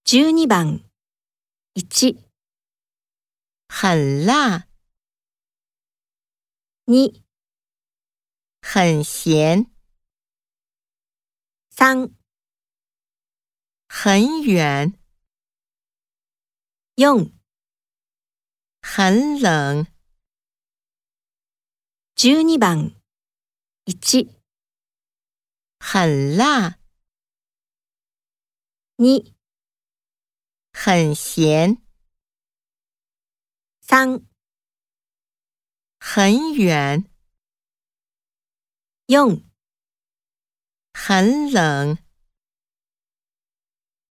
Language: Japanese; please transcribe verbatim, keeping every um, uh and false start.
じゅうにばんいち、 很辣， に、 很咸， さん、 很远， よん、 很冷。 じゅうにばんいち、 很辣， に、 很咸， さん、 很远， よん、 很冷。